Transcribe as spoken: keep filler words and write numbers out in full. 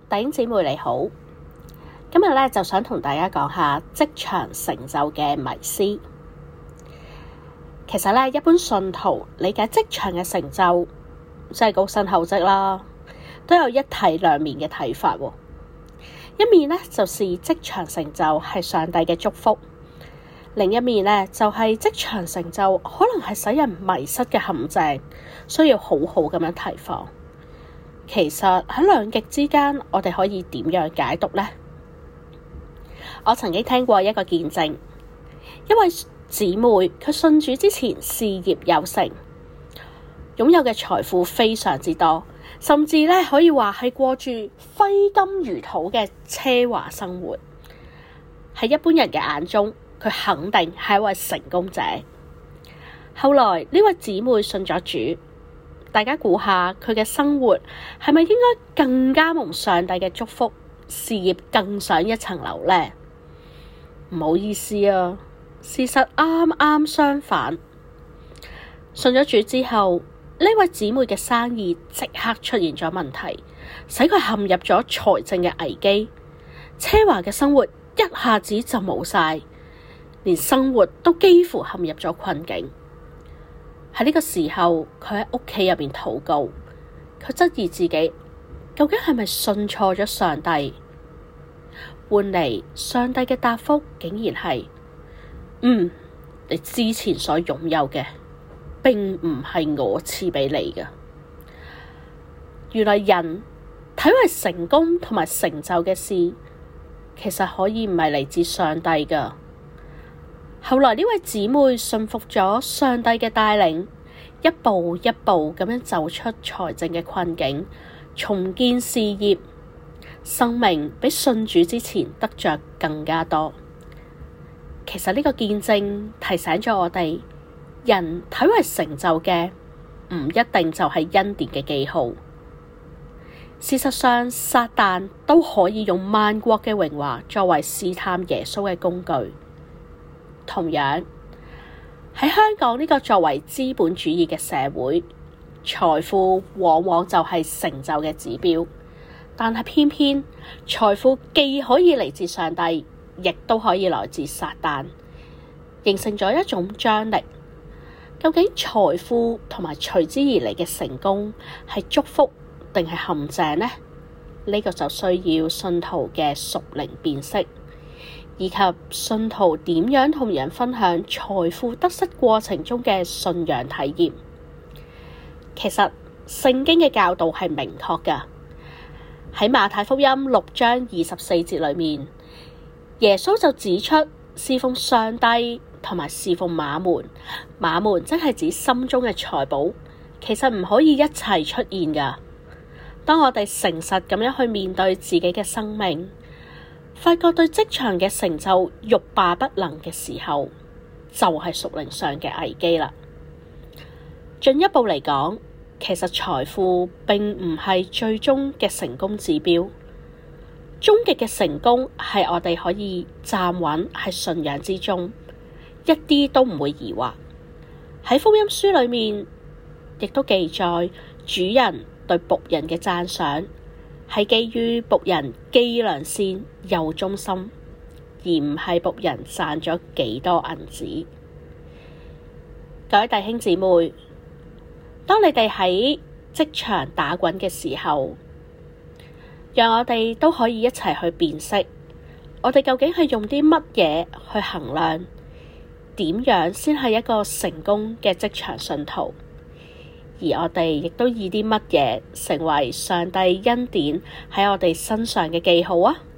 弟兄姊妹你好，今日咧就想同大家講下職場成就嘅迷思。其實咧，一般信徒理解職場嘅成就，即係高薪厚職啦，都有一體兩面嘅睇法。一面咧就是職場成就係上帝嘅祝福，另一面咧就係職場成就可能係使人迷失嘅陷阱，需要好好咁樣提防。其實喺兩極之間，我哋可以點樣解讀呢？我曾經聽過一個見證，一位姊妹佢信主之前事業有成，擁有嘅財富非常之多，甚至咧可以話係過住揮金如土嘅奢華生活。喺一般人嘅眼中，佢肯定係一位成功者。後來呢位姊妹信咗主。大家估下佢嘅生活係咪應該更加蒙上帝嘅祝福，事業更上一層樓呢？唔好意思啊，事實啱啱相反。信咗主之後，呢位姊妹嘅生意即刻出現咗問題，使佢陷入咗財政嘅危機，奢華嘅生活一下子就冇晒，連生活都幾乎陷入咗困境。喺呢個時候，佢喺屋企入邊禱告，佢質疑自己究竟係咪信錯咗上帝？換嚟上帝嘅答覆竟然係：嗯，你之前所擁有嘅，並唔係我賜俾你嘅。原來人睇為成功同埋成就嘅事，其實可以唔係嚟自上帝㗎。後來呢位姊妹信服咗上帝嘅帶領，一步一步咁樣走出財政嘅困境，重建事業，生命比信主之前得着更加多。其實呢個見證提醒咗我哋，人睇為成就嘅唔一定就係恩典嘅記號。事實上，撒旦都可以用萬國嘅榮華作為試探耶穌嘅工具。同樣喺香港呢個作為資本主義嘅社會，財富往往就係成就嘅指標，但係偏偏財富既可以嚟自上帝，亦都可以來自撒旦，形成咗一種張力。究竟財富同埋隨之而嚟嘅成功係祝福定係陷阱呢？呢、呢個就需要信徒嘅屬靈辨識，以及信徒點樣同人分享財富得失過程中嘅信仰體驗。其實聖經嘅教導係明確㗎，喺馬太福音六章二十四節裏面，耶穌就指出侍奉上帝同埋侍奉馬門，馬門即係指心中嘅財寶，其實唔可以一齊出現㗎。當我哋誠實咁樣去面對自己嘅生命，發覺對職場嘅成就欲罷不能嘅時候，就係屬靈上嘅危機啦。進一步嚟講，其實財富並唔係最終嘅成功指標，終極嘅成功係我哋可以站穩喺信仰之中，一啲都唔會疑惑。喺福音書裏面，亦都記載主人對僕人嘅讚賞，係基於僕人既良善又忠心，而唔係僕人賺咗幾多銀子。各位弟兄姊妹，當你哋喺職場打滾嘅時候，讓我哋都可以一齊去辨識，我哋究竟係用啲乜嘢去衡量，點樣先係一個成功嘅職場信徒？而我哋亦都以啲乜嘢成為上帝恩典喺我哋身上嘅記號啊？